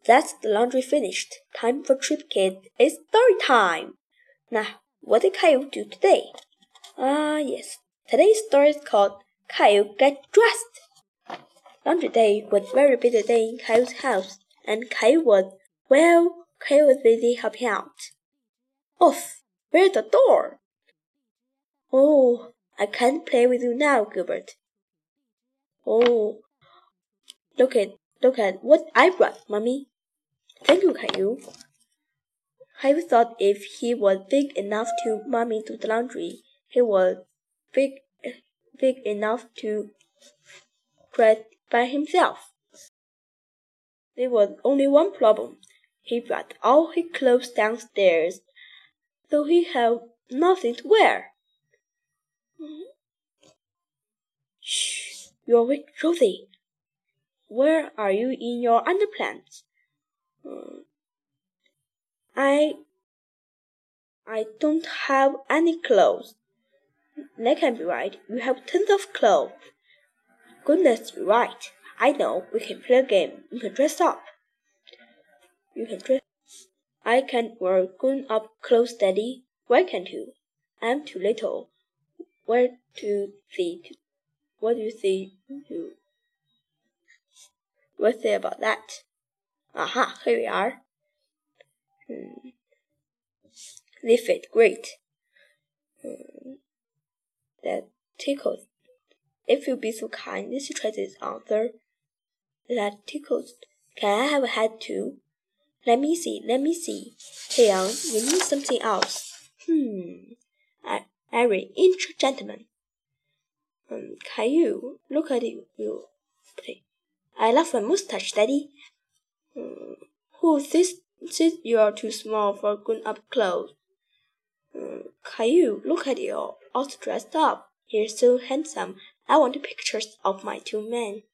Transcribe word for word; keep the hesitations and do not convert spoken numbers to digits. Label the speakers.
Speaker 1: That's the laundry finished. Time for Trip Kid. It's story time. Now, what did Caillou do today? Ah, yes. Today's story is called Caillou Get Dressed. Laundry day was a very busy day in Caillou's house, and Caillou was, well, Caillou was busy helping out. Off! Where's the door? Oh, I can't play with you now, Gilbert. Oh, look at look at what I brought, Mummy. Thank you, Caillou. Caillou thought if he was big enough to Mummy do the laundry, he was big big enough to dress by himself. There was only one problem. He brought all his clothes downstairs, so he had nothing to wear. Shh, you're awake, Rosie. Where are you in your underpants? Uh, I I don't have any clothes. That can't be right. You have tons of clothes. Goodness, you're right. I know. We can play a game. You can dress up. You can dress. I can't wear grown-up clothes, Daddy. Why can't you? I'm too little. Where to see? To, what do you see? To, what's it about that? Aha! Here we are. Hmm. They fit great. Hmm. That tickles. If you'd be so kind as to try this answer. That tickles. Can I have a hat too? Let me see, let me see. Hey, young, you need something else. Hmm. I, Every inch gentleman. Um, Caillou, look at you. you. I love my mustache, Daddy. Um, who says, says you are too small for grown-up clothes? Um, Caillou, look at you, all dressed up. You're so handsome. I want pictures of my two men.